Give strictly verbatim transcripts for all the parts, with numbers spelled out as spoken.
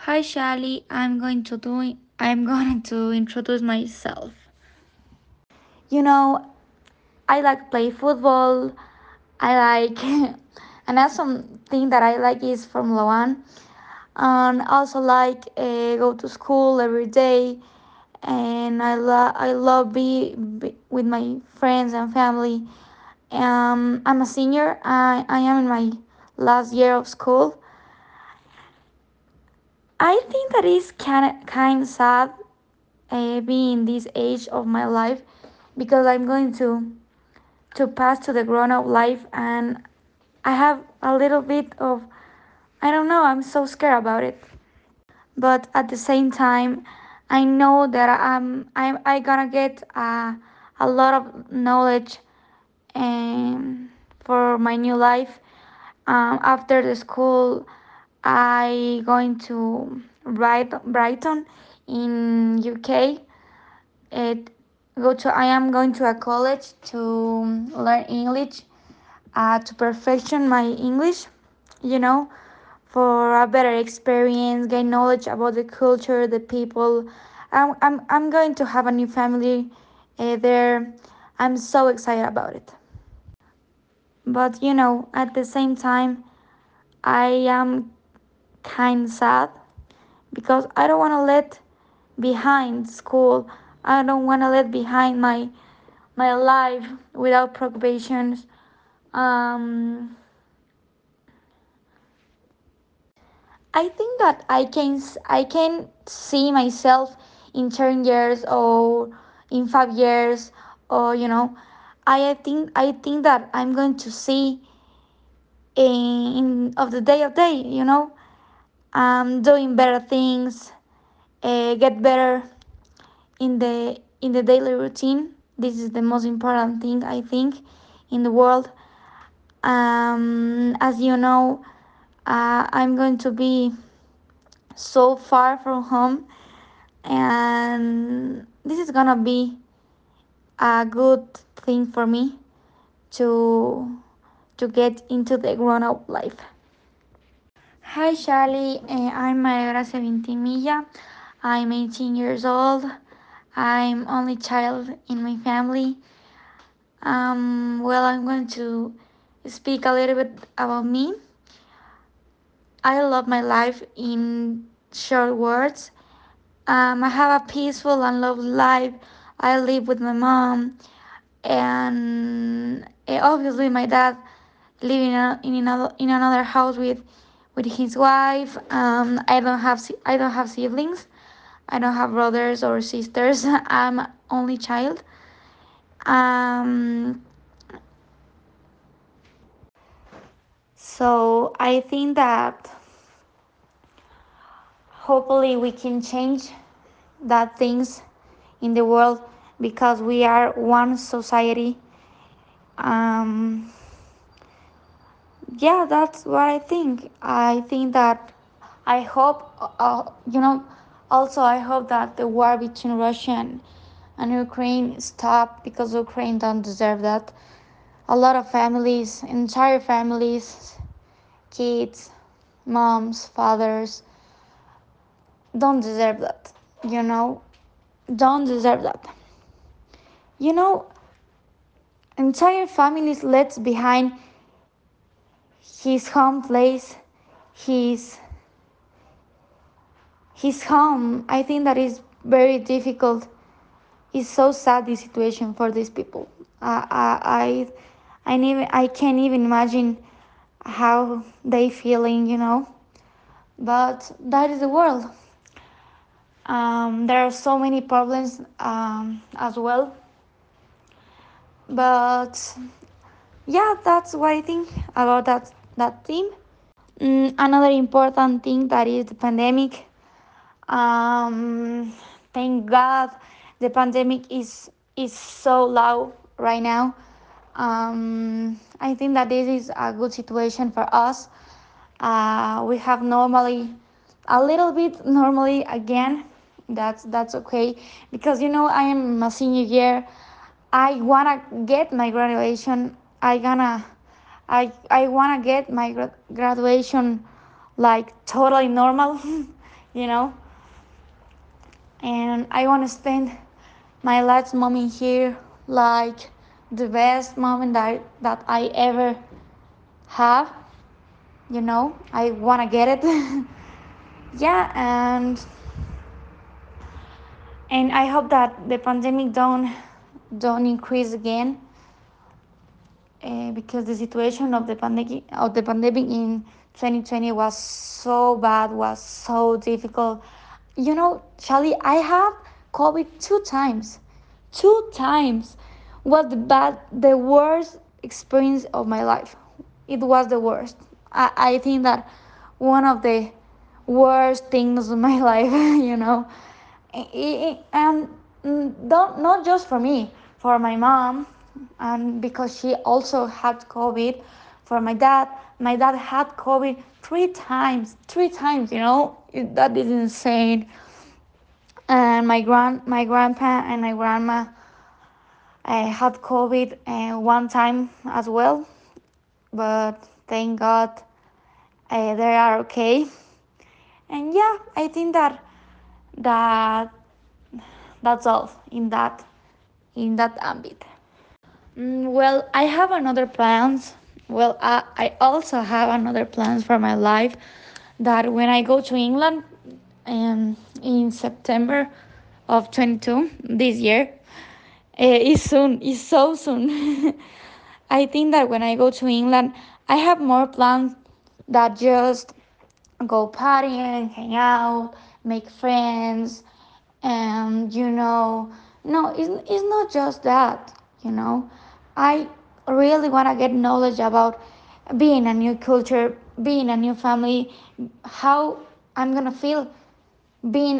Hi Shali, I'm going to do I'm going to introduce myself. You know, I like play football. I like and that's something that I like is Formula One. And also like uh, go to school every day. And I love I love be, be with my friends and family. Um, I'm a senior. I I am in my last year of school. I think that is kind of kind of sad uh, being this age of my life because I'm going to to pass to the grown up life, and I have a little bit of I don't know, I'm so scared about it. But at the same time, I know that I'm I'm I gonna get a, a lot of knowledge um, for my new life. Um, after the school, I going to Bright- Brighton in U K. It go to I am going to a college to learn English, uh, to perfection my English, you know, for a better experience, gain knowledge about the culture, the people. I'm I'm I'm going to have a new family uh, there. I'm so excited about it. But you know, at the same time, I am kind of sad because I don't want to let behind school. I don't want to let behind my my life without preoccupations. Um, I think that I can I can see myself in ten years or in five years, or you know, I think I think that I'm going to see in, in of the day of day, you know, um, doing better things, uh, get better in the in the daily routine. This is the most important thing I think in the world. Um, as you know, uh, I'm going to be so far from home, and this is gonna be a good thing for me to to get into the grown-up life. Hi Charlie, uh, I'm Maria Gracia Vintimilla. I'm eighteen years old. I'm only child in my family. Um, well, I'm going to speak a little bit about me. I love my life in short words. Um, I have a peaceful and lovely life. I live with my mom, and eh, obviously my dad living in, a, in another in another house with with his wife. Um, I don't have si- I don't have siblings. I don't have brothers or sisters. I'm only child. Um, so I think that hopefully we can change that things in the world because we are one society. Um, yeah, that's what I think. I think that I hope, uh, you know, also I hope that the war between Russia and, and Ukraine stop because Ukraine don't deserve that. A lot of families, entire families, kids, moms, fathers, don't deserve that. You know, don't deserve that. You know, entire families left behind his home place, his his home. I think that is very difficult. It's so sad this situation for these people. I I I, I, never, I can't even imagine how they feeling, you know. But that is the world. Um, there are so many problems um, as well. But yeah, that's what I think about that that theme. Mm, another important thing that is the pandemic. Um, thank God the pandemic is is so low right now. Um, I think that this is a good situation for us. Uh, we have normally a little bit normally again. That's that's okay because you know I am a senior year. I wanna get my graduation. I gonna I I wanna get my gra- graduation like totally normal. you know. And I want to spend my last moment here like the best moment that, that I ever have, you know. I want to get it. Yeah, and and I hope that the pandemic don't don't increase again, uh, because the situation of the pandemic of the pandemic in twenty twenty was so bad, was so difficult. You know, Charlie, I have COVID two times, two times. Was the bad, the worst experience of my life. It was the worst. I, I think that one of the worst things of my life. You know, and don't, not just for me, for my mom, and because she also had COVID. For my dad, my dad had COVID three times, three times. You know, that is insane. And my grand, my grandpa and my grandma uh, had COVID uh, one time as well, but thank God uh, they are okay. And yeah, I think that that that's all in that in that ambit. Mm, well, I have another plans. Well, I, I also have another plans for my life. That when I go to England, um, in September of twenty two this year, uh, it's soon. It's so soon. I think that when I go to England, I have more plans that just go partying, hang out, make friends, and you know, no, it's, it's not just that. You know, I really want to get knowledge about being a new culture, being a new family, how I'm gonna feel being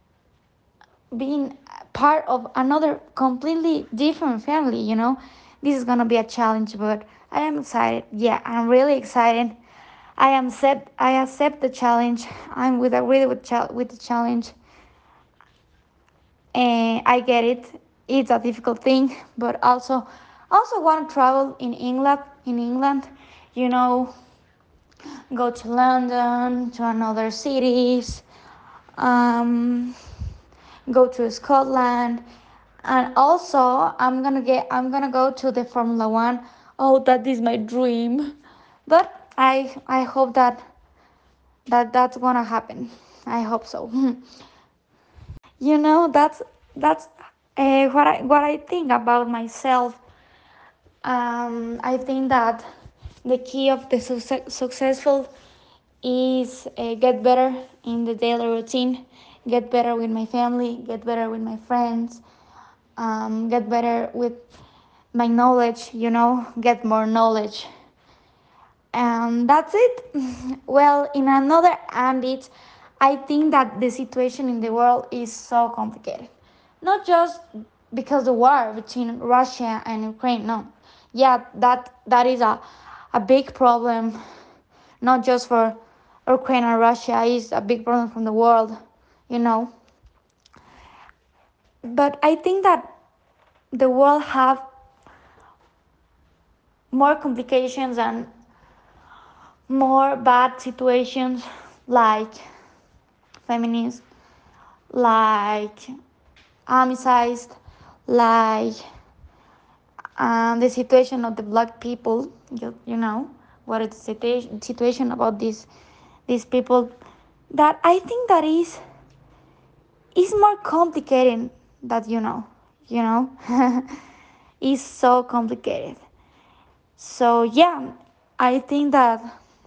being part of another completely different family. You know, this is gonna be a challenge, but I am excited. Yeah, I'm really excited. I am accept I accept the challenge. I'm with agree with cha- with the challenge, and I get it. It's a difficult thing, but also also want to travel in England. In England, you know, go to London, to another cities, um, go to Scotland, and also I'm gonna get I'm gonna go to the Formula One. Oh, that is my dream, but I I hope that that that's gonna happen. I hope so. You know, that's that's uh, what I what I think about myself. Um, I think that the key of the success, successful is uh, get better in the daily routine, get better with my family, get better with my friends, um, get better with my knowledge. You know, get more knowledge. And that's it. Well, in another ambit, I think that the situation in the world is so complicated. Not just because the war between Russia and Ukraine, no. Yeah, that that is a, a big problem, not just for Ukraine and Russia, it's a big problem from the world, you know. But I think that the world have more complications and more bad situations like feminism, like homicides, like um, the situation of the black people. You, you know what is the situation situation about these these people, that I think that is is more complicated that you know you know is so complicated. So yeah, I think that.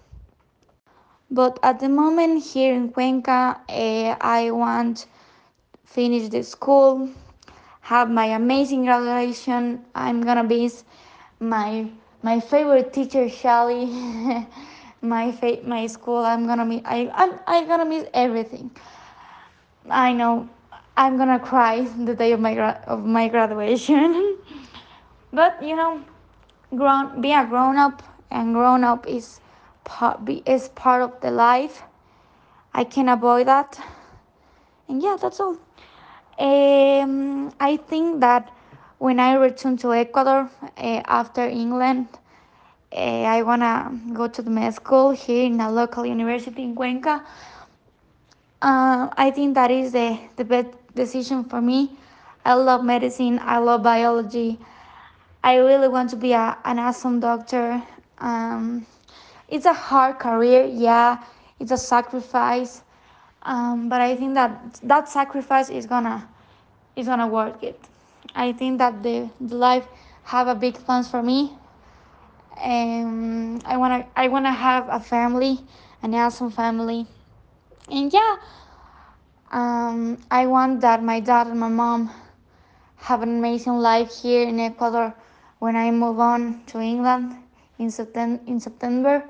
But at the moment here in Cuenca, uh, I want finish the school, have my amazing graduation. I'm gonna miss my my favorite teacher, Shelly. my fa- my school. I'm gonna miss. I I'm, I'm gonna miss everything. I know. I'm gonna cry the day of my gra- of my graduation. But you know, grown be a grown up, and grown up is part be, is part of the life. I can avoid that, and yeah, that's all. Um, I think that when I return to Ecuador uh, after England, uh, I wanna go to the med school here in a local university in Cuenca. Uh, I think that is the, the best decision for me. I love medicine, I love biology. I really want to be a, an awesome doctor. Um, it's a hard career, yeah, it's a sacrifice, um, but I think that that sacrifice is gonna is gonna work it. I think that the, the life have a big plans for me. Um, I wanna I wanna have a family, an awesome family, and yeah, um, I want that my dad and my mom have an amazing life here in Ecuador when I move on to England in September. In September,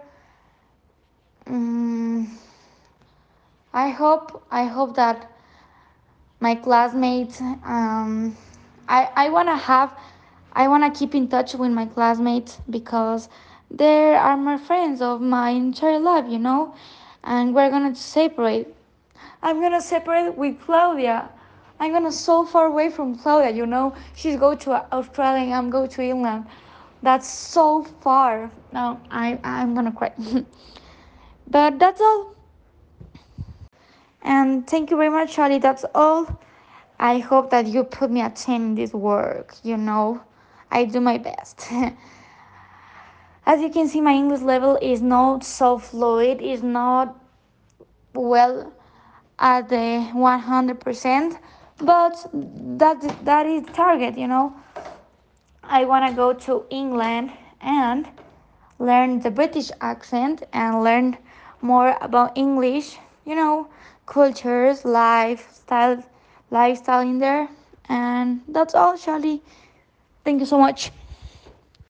um, I hope I hope that my classmates. Um, I I wanna have I wanna keep in touch with my classmates because they are my friends of my entire life, you know, and we're gonna separate. I'm gonna separate with Claudia. I'm gonna so far away from Claudia, you know. She's go to Australia and I'm go to England. That's so far. No, I I'm gonna cry. But that's all. And thank you very much, Charlie. That's all. I hope that you put me a ten in this work, you know. I do my best. As you can see, my English level is not so fluid, is not well at the one hundred percent, but that that is target, you know. I want to go to England and learn the British accent and learn more about English, you know, cultures, lifestyle, lifestyle in there. And that's all, Charlie. Thank you so much.